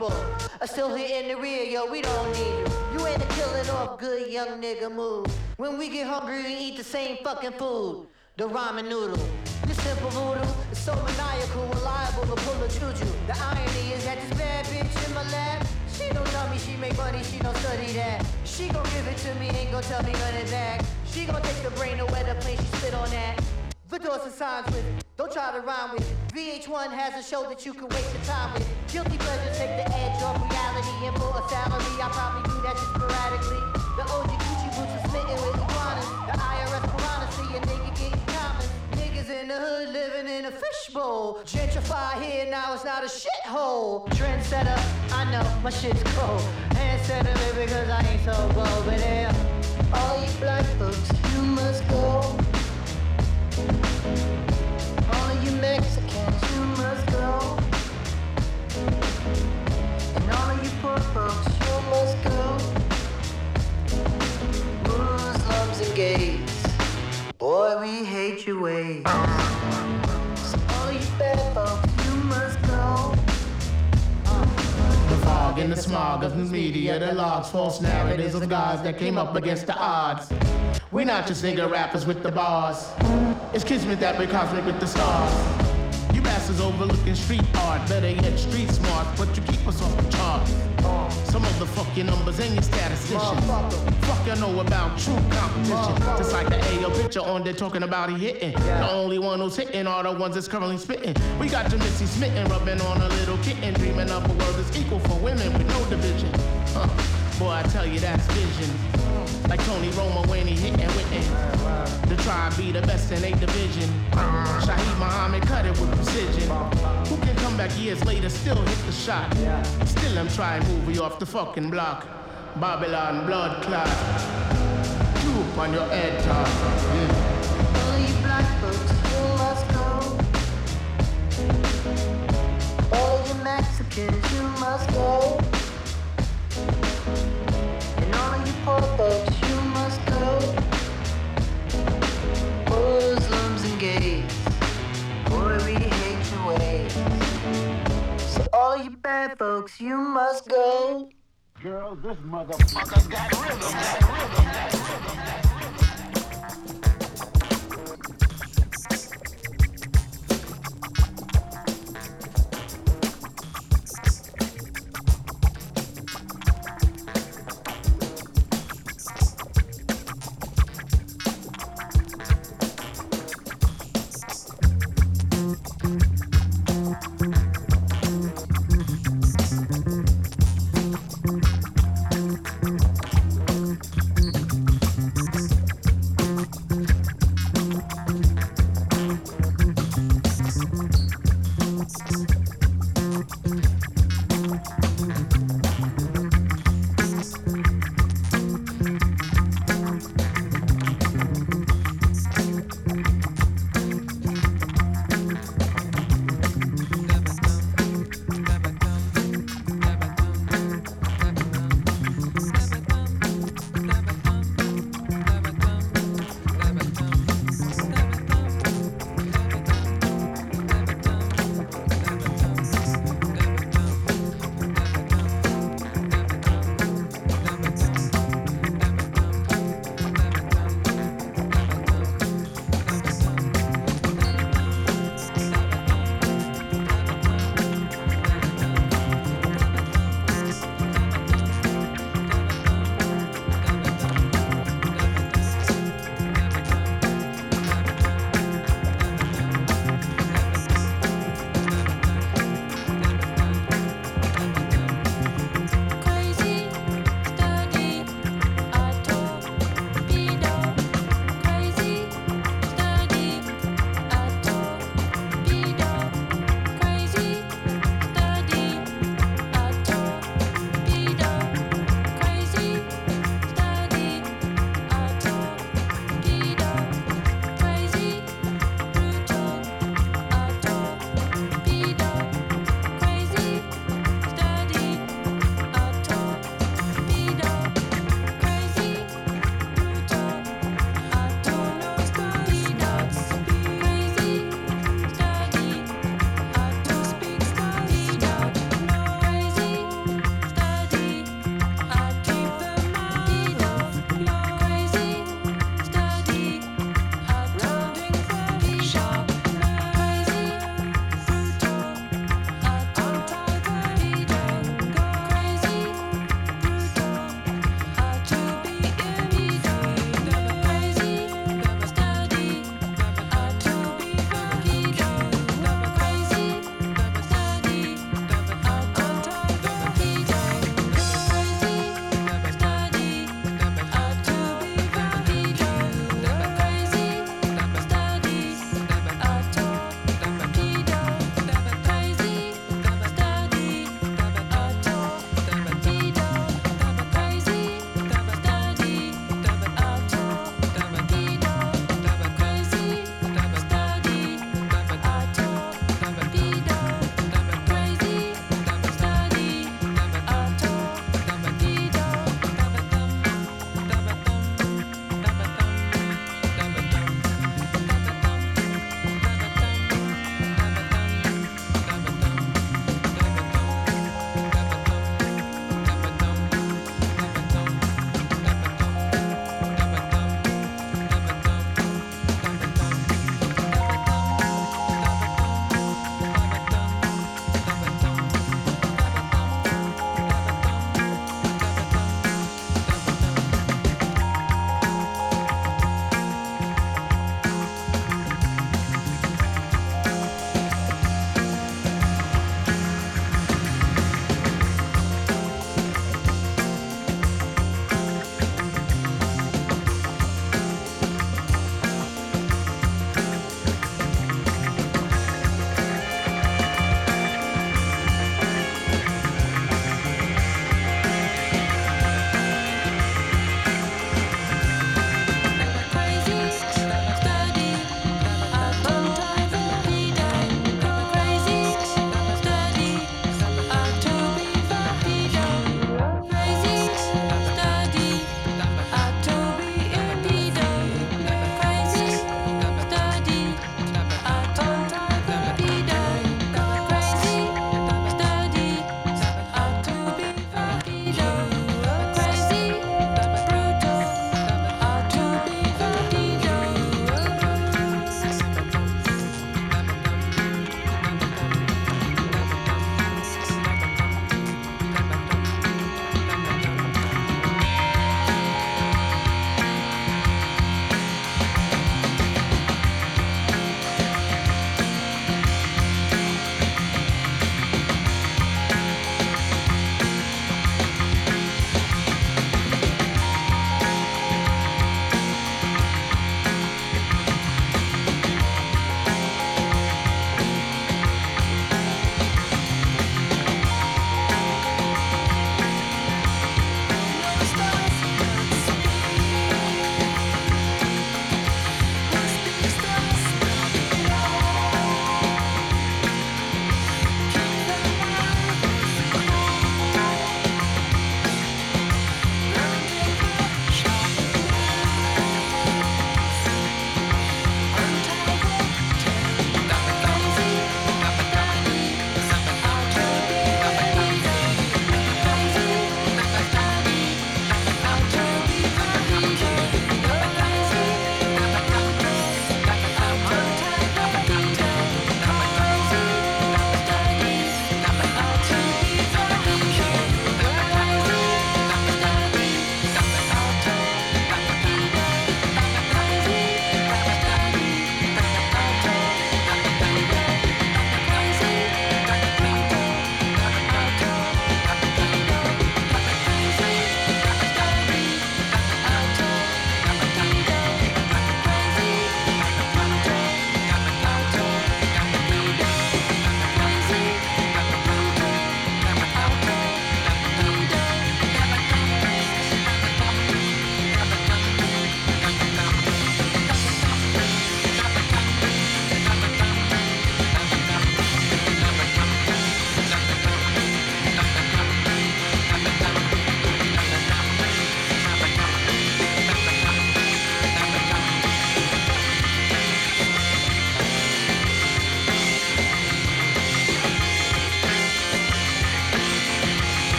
people are still here in the rear, yo, we don't need you. You ain't a killing off good young nigga move. When we get hungry, we eat the same fucking food. The ramen noodle. This simple voodoo is so maniacal, reliable to pull a juju. The irony is that this bad bitch in my lap, she don't tell me she make money, she don't study that. She gon' give it to me, ain't gon' tell me none of that. She gon' take the brain to where the plane, she spit on that. The doors and signs with it, don't try to rhyme with it. VH1 has a show that you can waste your time with. Guilty pleasures take the edge off reality. And for a salary, I probably do that just sporadically. The OG Gucci boots are smitten with iguanas. The IRS piranha see a nigga getting common. Niggas in the hood living in a fishbowl. Gentrify here, now it's not a shithole. Trendsetter, I know, my shit's cold. Handsetter, because I ain't so bold. But yeah, all you black folks, you must go. All of you Mexicans, you must go. And all of you poor folks, you must go. Muslims and gays, boy, we hate your ways. So all of you bad folks, you must go. The fog and the smog of the media, the logs, false narratives of gods that came up against the odds. We not just nigga rappers with the bars. It's kismet that we're cosmic with the stars. You bastards overlooking street art, better yet street smart, but you keep us off the charts. Some of the fuck your numbers and your statisticians. Fuck you know about true competition. Just like the AO picture on there talking about he hitting. The only one who's hitting are the ones that's currently spitting. We got Jamissy smitten, rubbing on a little kitten, dreaming up a world that's equal for women with no division. Boy, I tell you that's vision. Like Tony Romo when he hitting with the tribe be the best in 8 division. Shaheed Muhammad cut it with precision. Who can come back years later, still hit the shot? Still I'm trying to move you off the fucking block. Babylon blood clot. Troop on your head top. All of you black folks, you must go. All of you Mexicans, you must go. And all of you poor folks, you must go. Muslims and gays, boy, we hate your ways. So all of you bad folks, you must go. Girl, this motherfucker's got rhythm.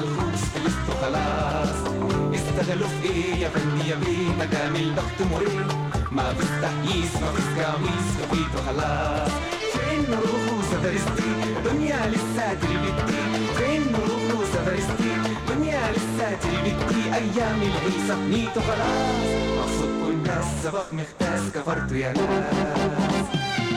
ملخوص خلصتوا خلاص. استغلوا في ايه يا فندي يا بيه مدام الضغط مريح، ما فيش تحييس ما فيش قميص خفيتوا خلاص. فين نروحوا سفرستي دنيا لسه تلبتي، فين نروحوا سفرستي دنيا لسه تلبتي، ايام العيسى بنيتوا خلاص. مقصود كل ناس سبق مختاس كفرتوا يا ناس.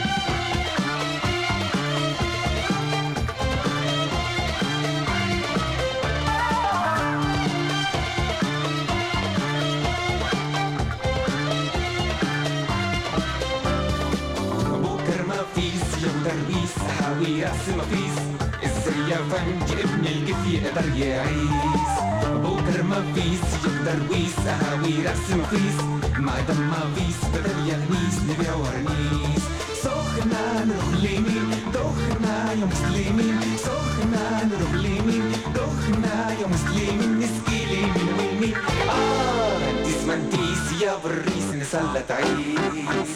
درويس حاوي راس مفيس، ازاي يا فندي ابن الكيف يقدر يعيس. بكر مفيس يا درويس حاوي راس مفيس، ما دام مفيس بدل يغنيس نبيع ورنيس. سخنا نروح لمين دخنا يا مسلمين، سخنا نروح لمين دخنا يا مسلمين، نسقي لمين ومين. انتيس منتيس يا بريس نسلت عيس.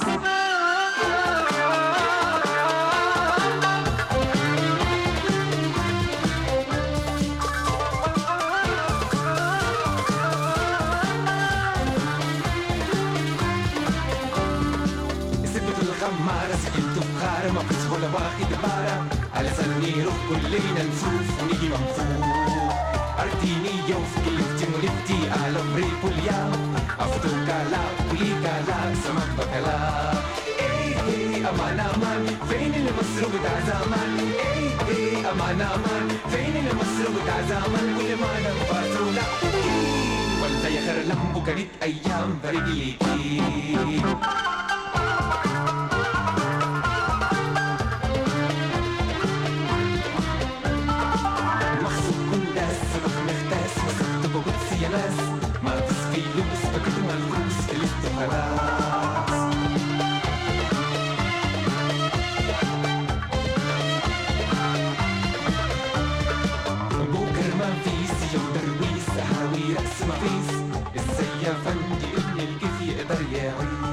خمارة سكنت بخارة ما فيش ولا واخد بارة، على سني روح كلنا نشوف ونيجي منفوخ. أرتيني يوف كلفتي ولفتي على بريب اليوم، أفتو كالا كلي كالا سمك بكالا. إيه أمان أمان فين المصروف بتاع زمان، إيه أمان أمان فين المصروف بتاع زمان، واللي ما نفاتوا لا ولا يا خير لمبو كانت أيام برجليكي. يا ناس ما فيش فلوس فكنت ملخوص خلصتوا خلاص. بكر ما فيش يا درويس حاوي راس ما فيش، ازاي يا فندي ابن الكيف يقدر يعيش.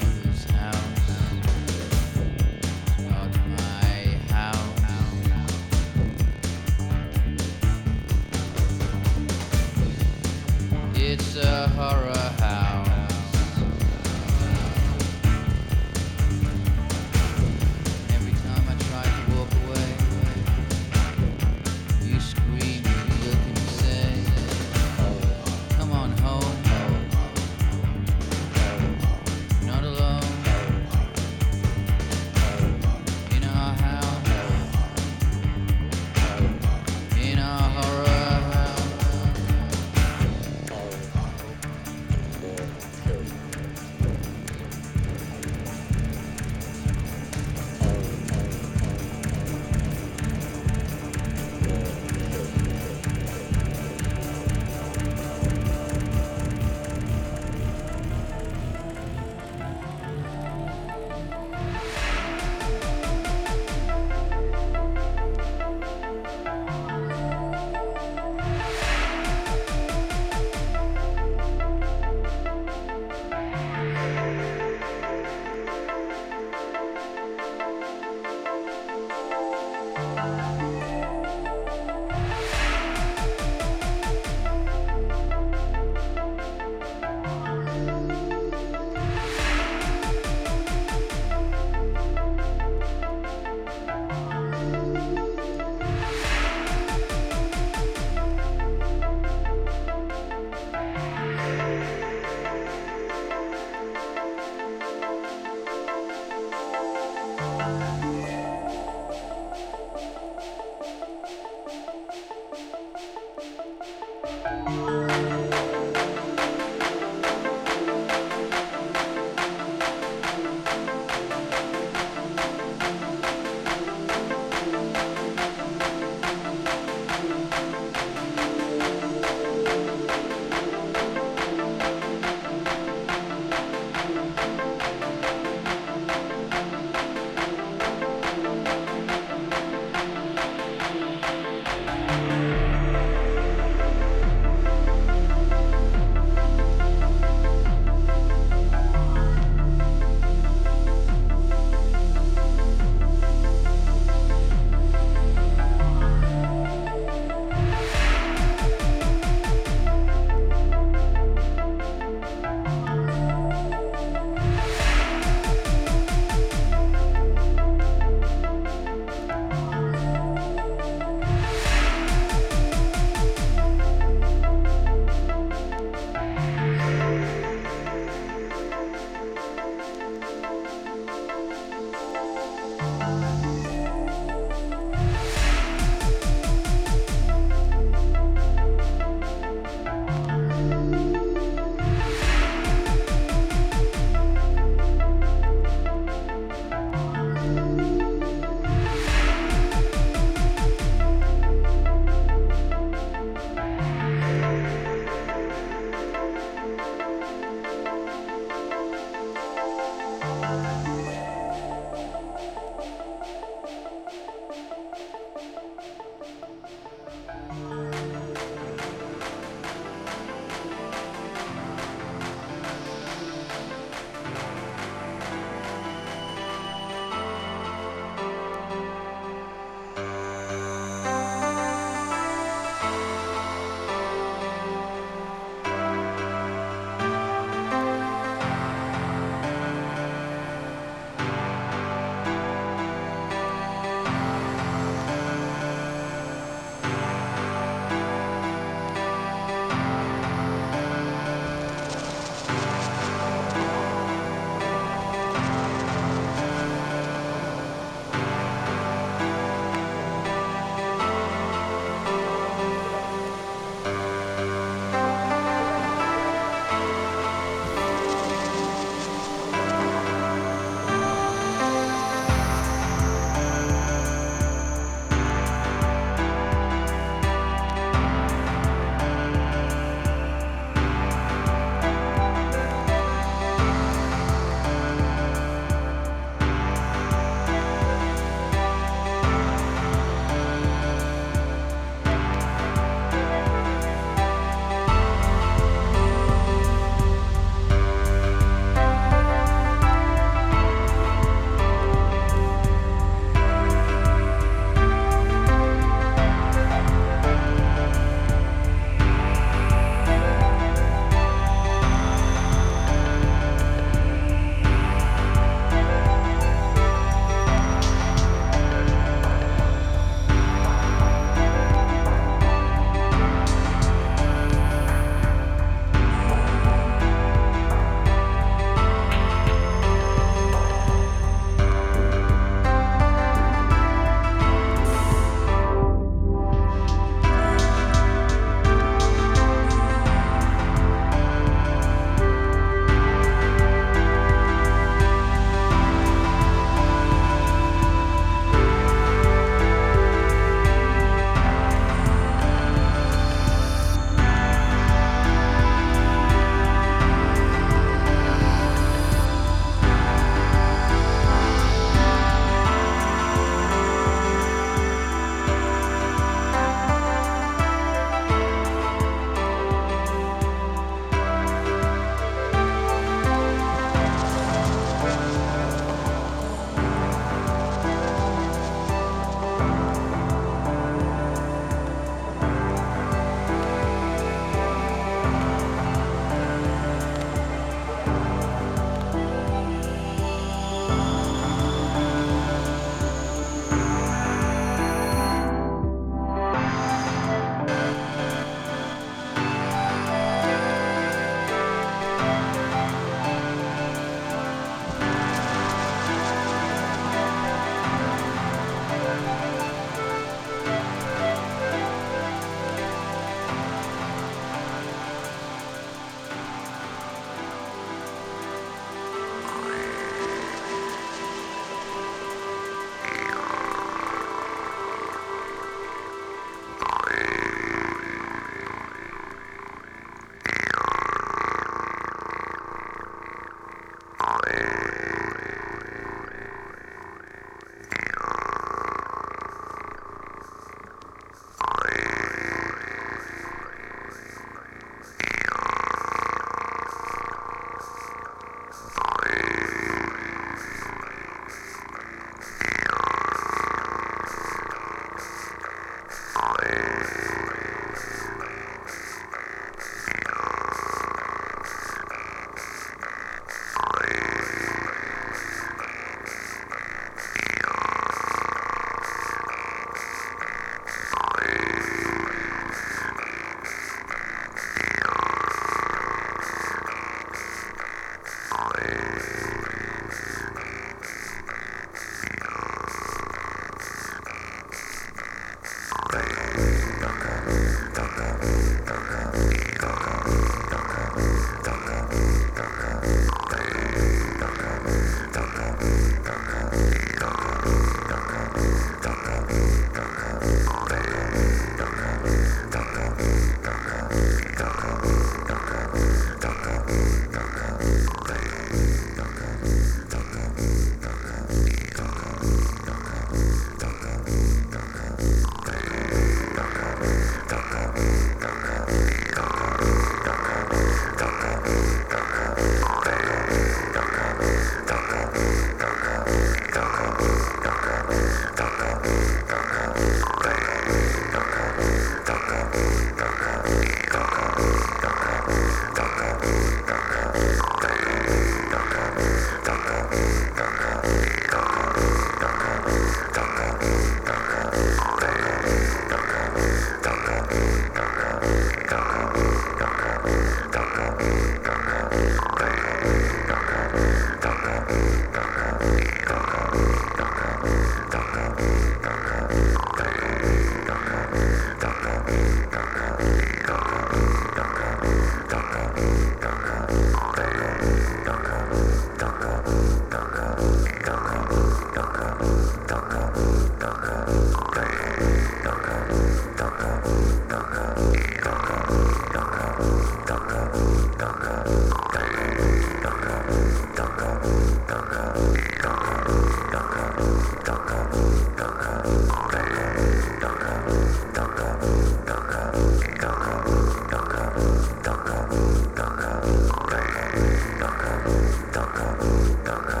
Docker.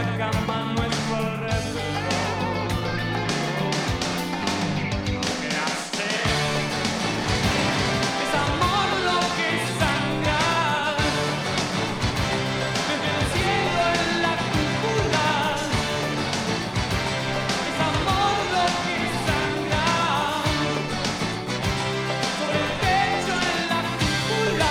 cama nuestro alrededor. ¿Qué hace? Es amor lo que sangra desde el cielo en la cúpula. Es amor lo que sangra sobre el techo en la cúpula.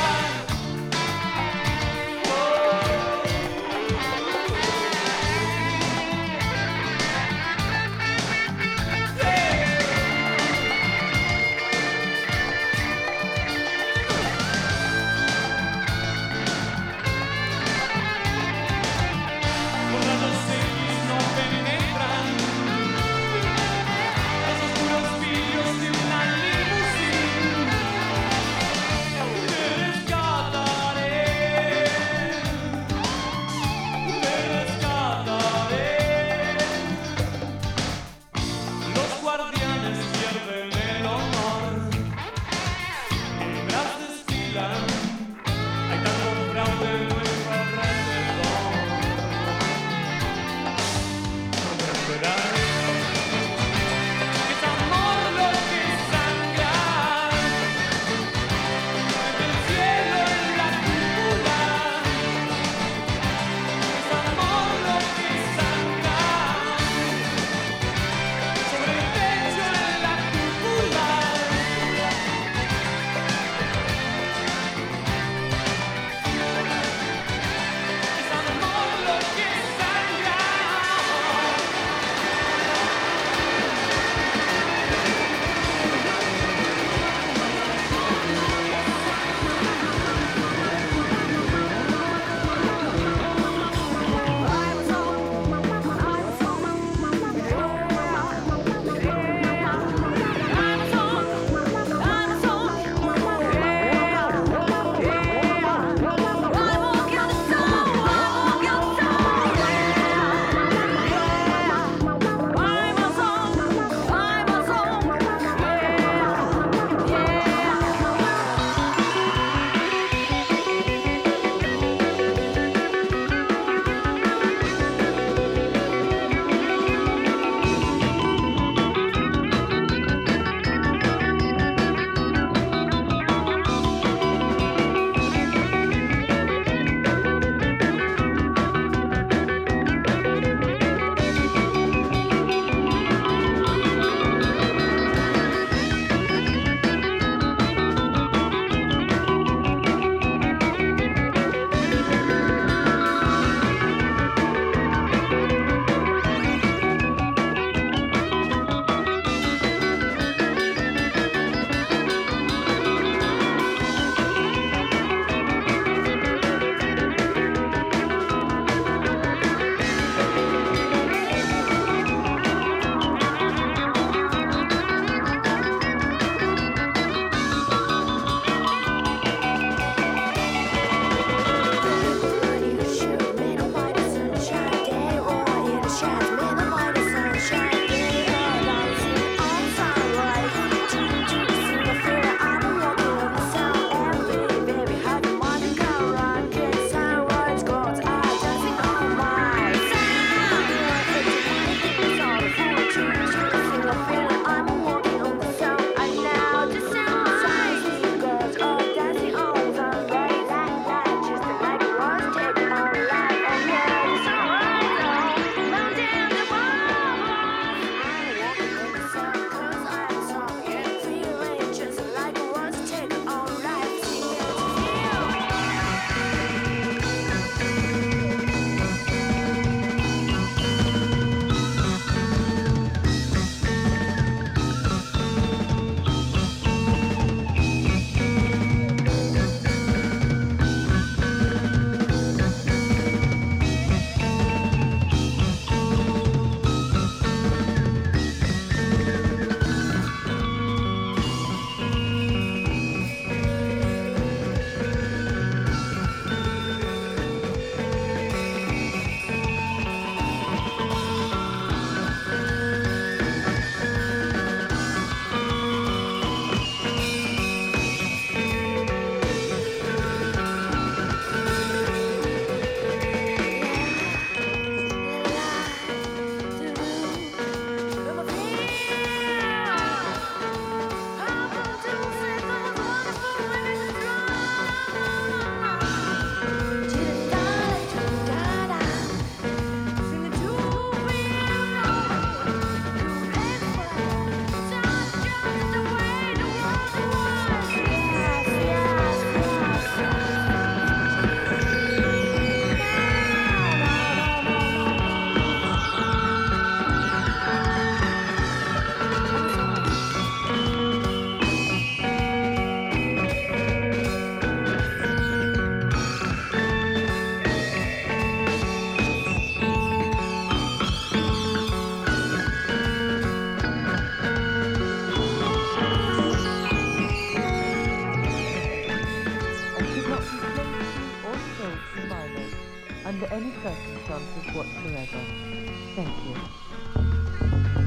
not be placed or sold to minors under any circumstances whatsoever. Thank you.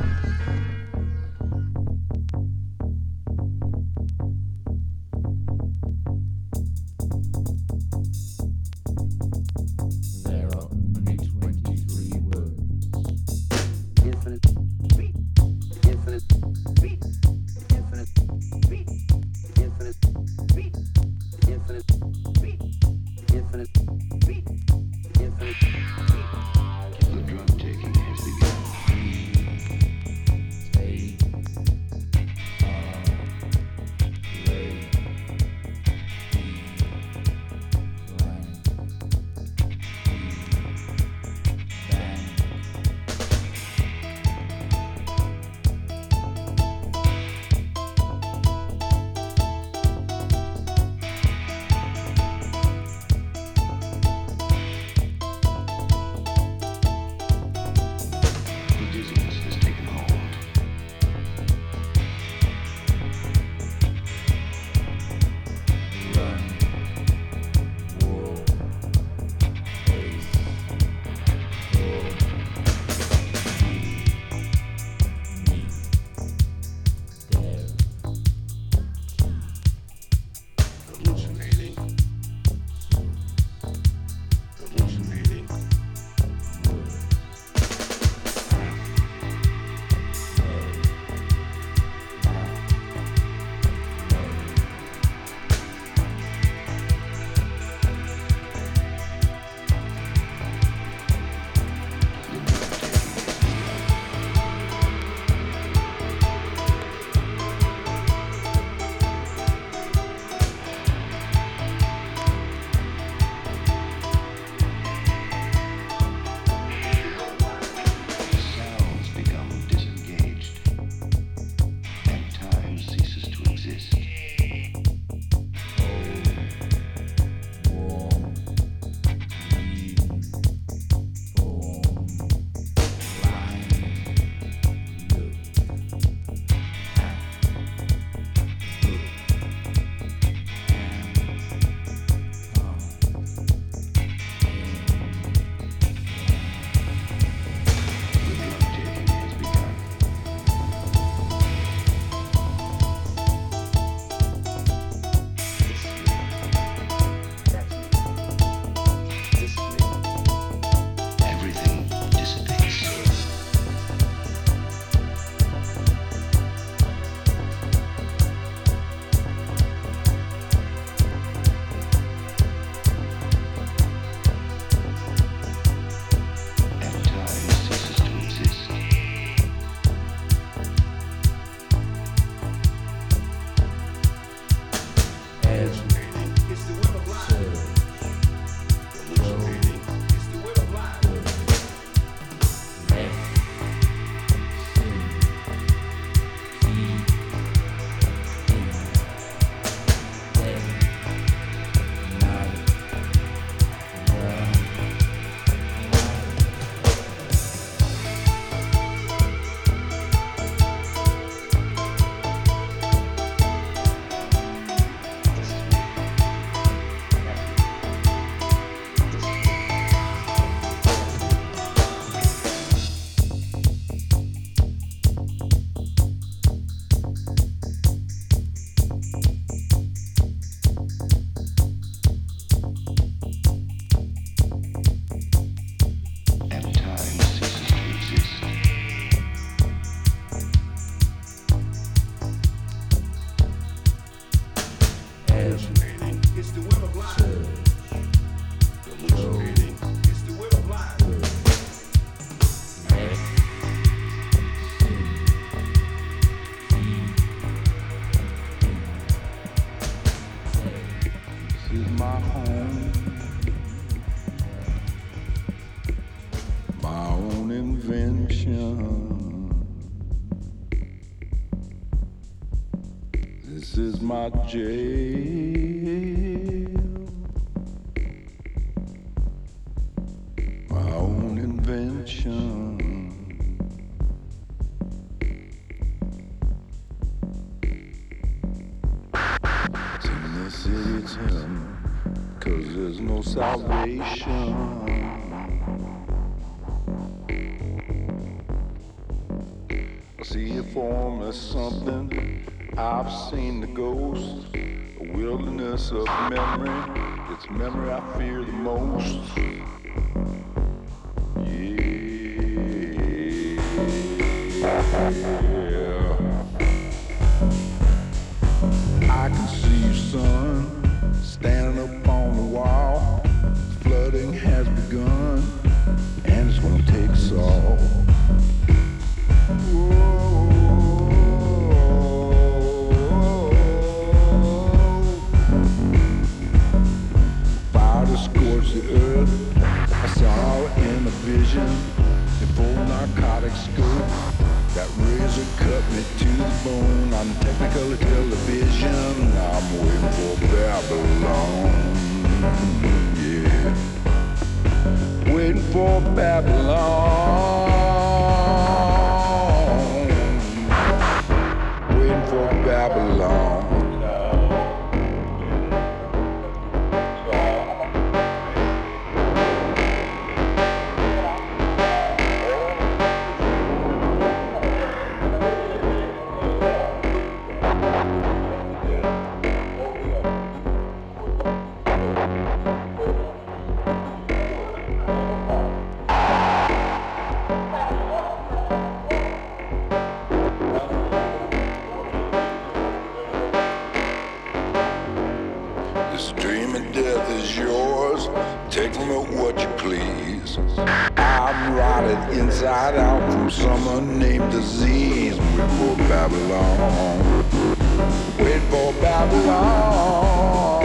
There are only 23 words. Infinite beat, infinite beat, infinite beat, infinite beat, infinite beat, infinite beat, infinite beat. The drug taking has begun. Take The dizziness has taken hold. Hallucinating. Hallucinating. Sounds become disengaged, and time ceases to exist. The drug taking has begun. Everything dissipates. And time ceases to exist. Hallucinating. It's the web of life. Hallucinating. It's the web of life. And time ceases to exist. Hallucinating. It's the web of life. Hallucinating. It's the web of life. This is my home, my own invention. This is my jail, my own invention. It's in the city, tell me. 'cause there's no salvation. I see you form as something. I've seen the ghost, a wilderness of memory. It's memory I fear the most. Yeah. I can see you, son, standing up on the wall. Flooding has begun, and it's gonna take us all. Fire to scorch the earth. I saw it in a vision, in full narcotic scope. That razor cut me to the bone on Technicolor television. I'm waiting for Babylon. Yeah. Waiting for Babylon. Waiting for Babylon. This dream of death is yours. Take from it what you please. I'm rotted inside out from some unnamed disease. Wait for Babylon. Wait for Babylon.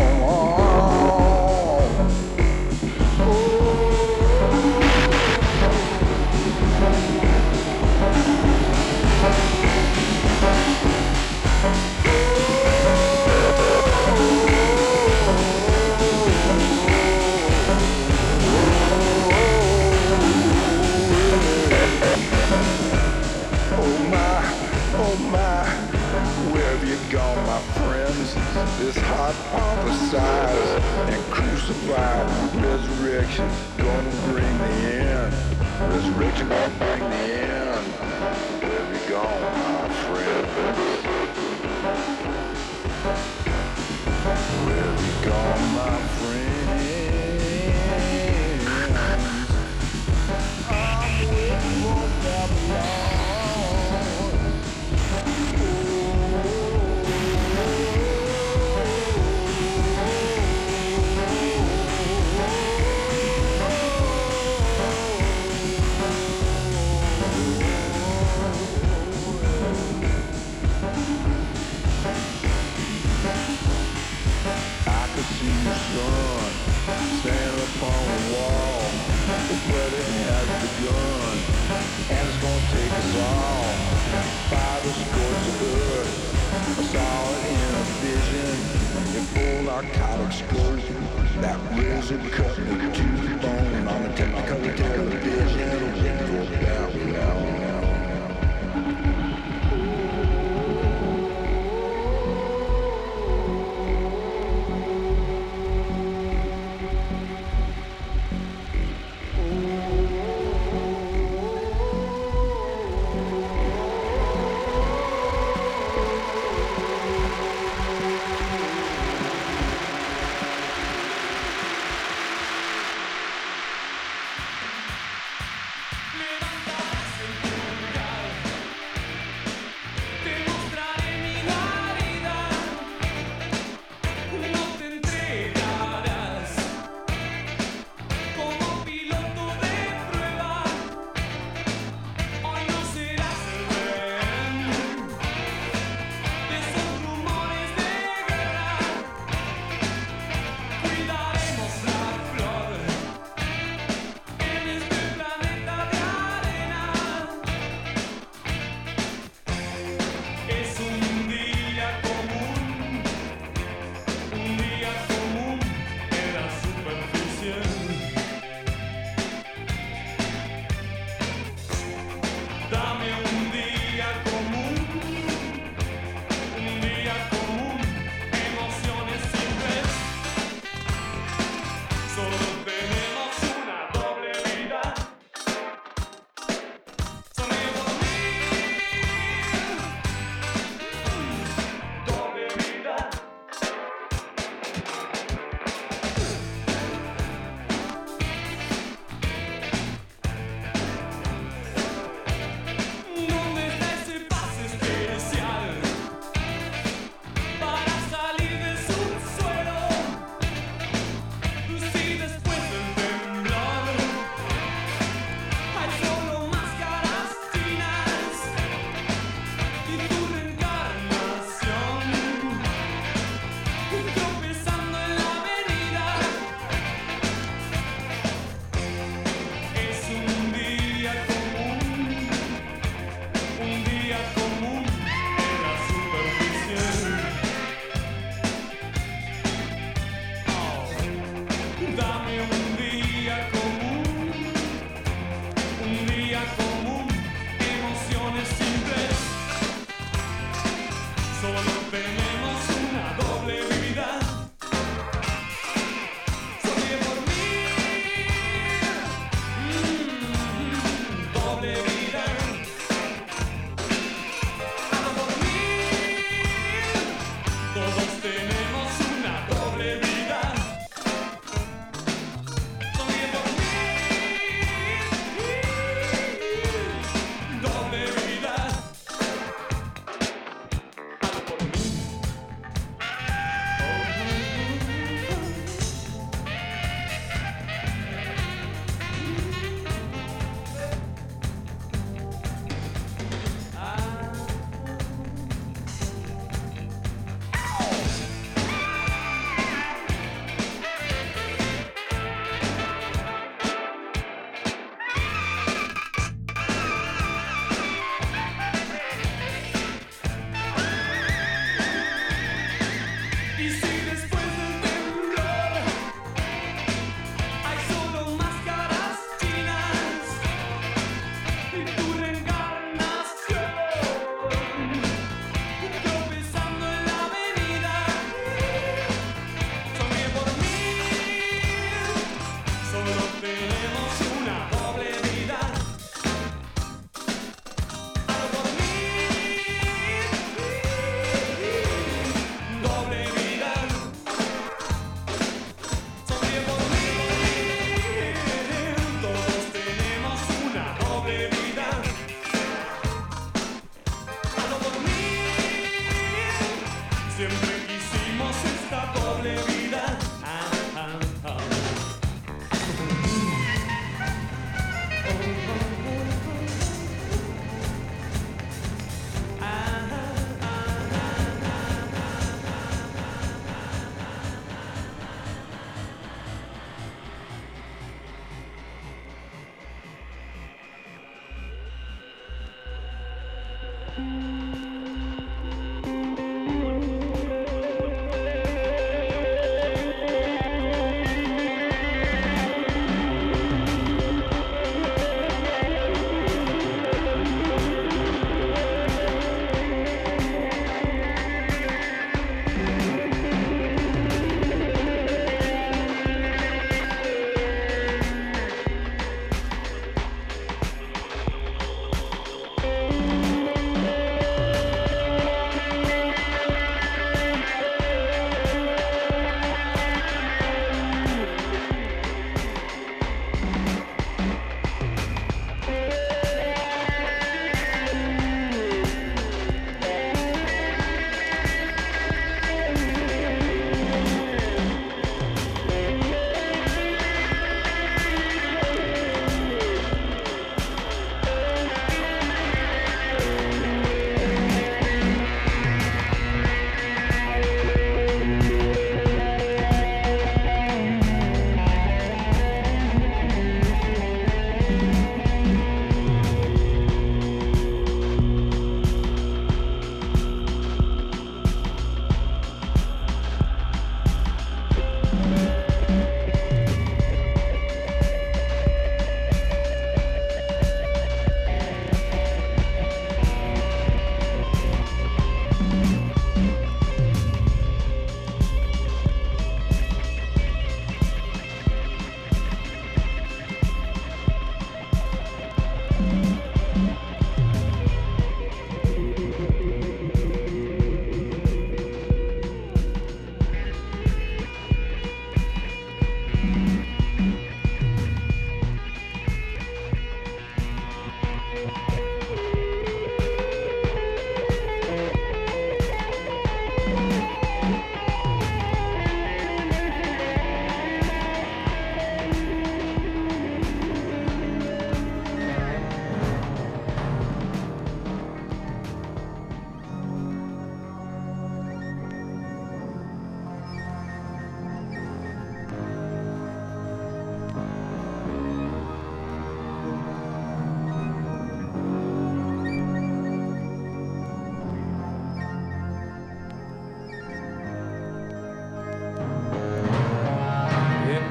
Oh my, where have you gone, my friends? This hot prophesized and crucified resurrection gonna bring the end. Resurrection gonna bring the end. Where have you gone, my friends? Where have you gone, my friends? I'm waiting for Babylon. Son, stand upon the wall. The wedding has begun, and it's gonna take us all. Fire to scorch the earth. I saw it in a vision, in full narcotic scope. That razor cut me to the bone on the Technicolor television. For Babylon. Dame un día común, emociones simples. Solo tenemos una doble vida. Sonríe por mí, doble vida. Ama por mí, todos tenemos una doble vida. Sonríe por mí, doble vida. Ama por mí. Y si después del temblor hay solo máscaras chinas y tu reencarnación tropezando en la avenida, sonríe por mí, solo tenemos una doble vida. Hazlo por mí, doble vida. Sonríe por mí, todos tenemos una doble vida. Hazlo por mí, siempre quisimos esta doble vida.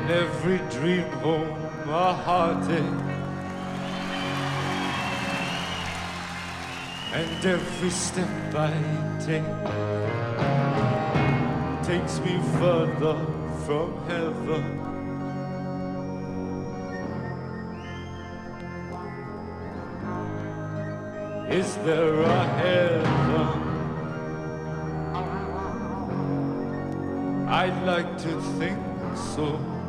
every dream home a heartache, and every step I take takes me further from heaven. Is there a heaven? I'd like to think so.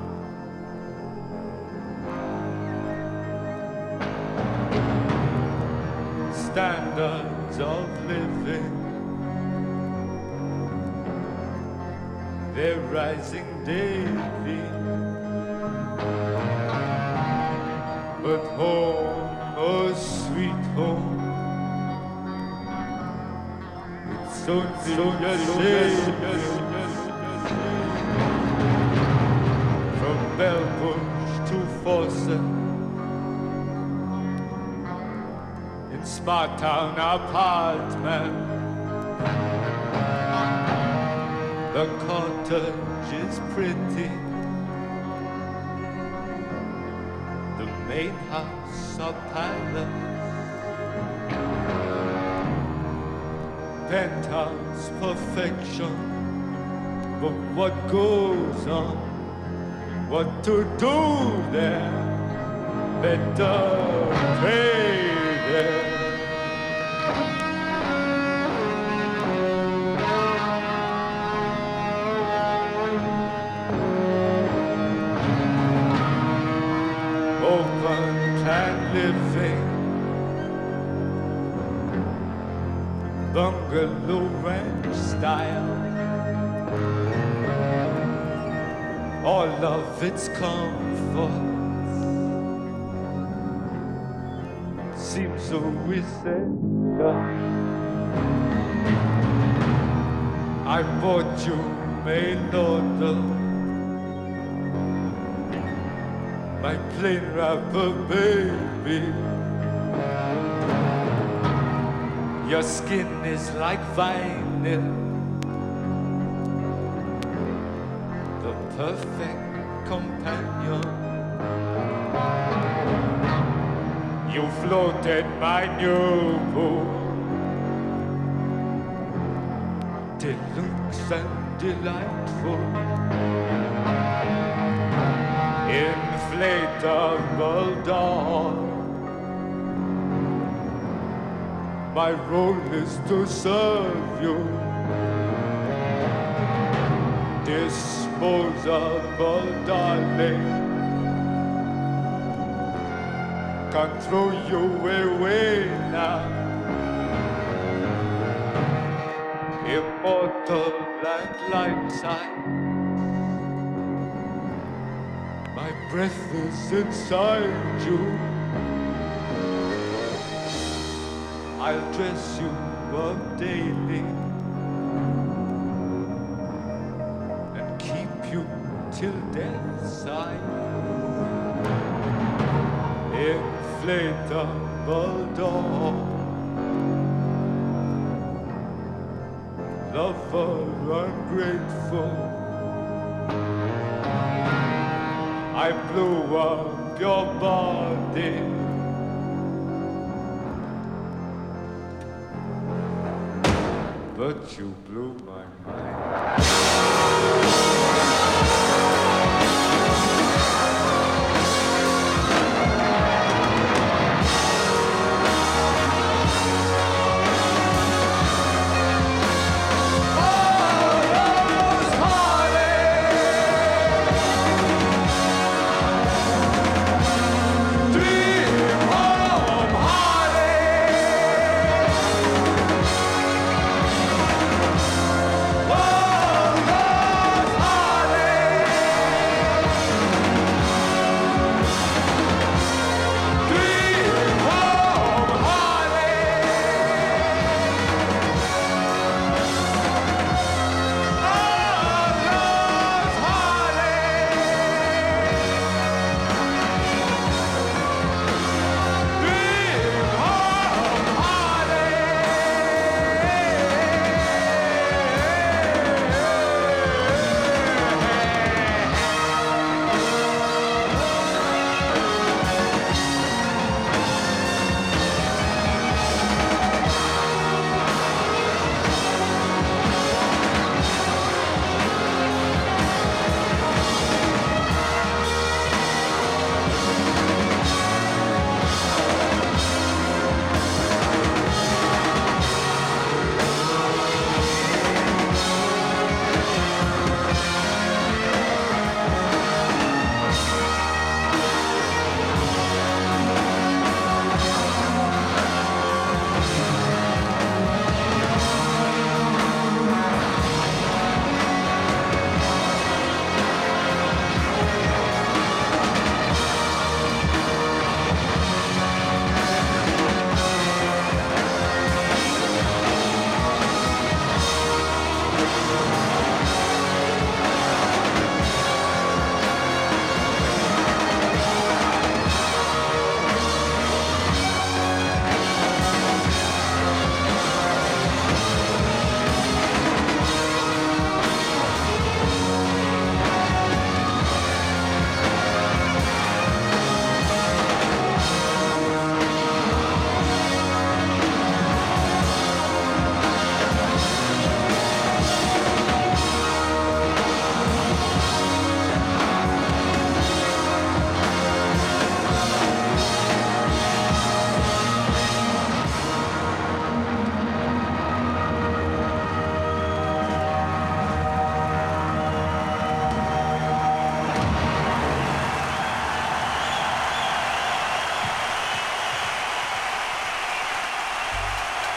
Standards of living, they're rising daily. But home, oh sweet home, it's only a shame. From Belbush to Fawcett, in Smarttown apartment, the cottage is pretty, the main house a palace, penthouse perfection. But what goes on, what to do there, better pay there. Open plan living, bungalow ranch style, all of its comforts seems so essential. I bought you mail order, my plain wrapper baby. Your skin is like vinyl, the perfect companion. You floated my new pool, deluxe and delightful, inflatable doll. My role is to serve you, disposable darling. Can't throw you away now. Immortal and life-size, my breath is inside you. I'll dress you up daily and keep you till death's side. Inflatable doll, lover ungrateful, I blew up your body. But you blew my mind.